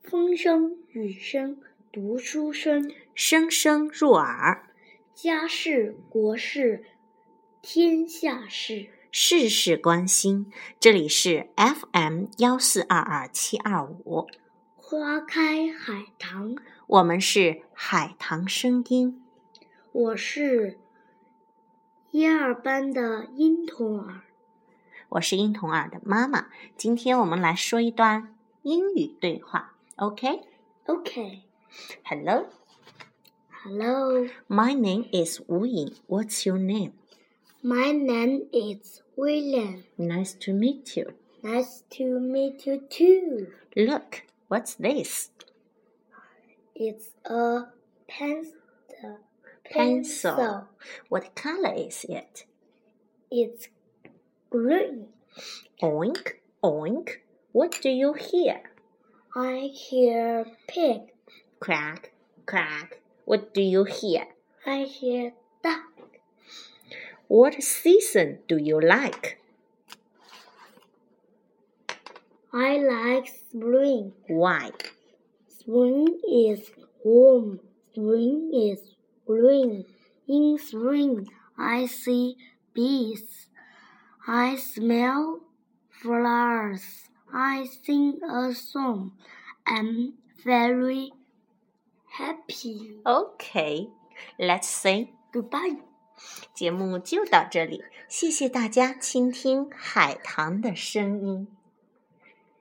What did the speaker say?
风声雨声读书声， 声声入耳。 家事国事天下事， 事事关心。这里是 FM1422725， 花开海棠。 我们是海棠声音。 我是1、2班的殷童儿。 我是殷童儿的妈妈。今天我们来说一段英语对话。OK? Okay. Hello. My name is Wu Ying. What's your name? My name is William. Nice to meet you. Nice to meet you too. Look, what's this? It's a pencil. What color is it? It's green. Oink, oink. What do you hear? I hear pig. Quack, quack. What do you hear? I hear duck. What season do you like? I like spring. Why? Spring is warm. Spring is green. In spring, I see bees. I smell flowers. I sing a song. I'm very happy. Okay, let's say goodbye. 节目就到这里，谢谢大家倾听海棠的声音。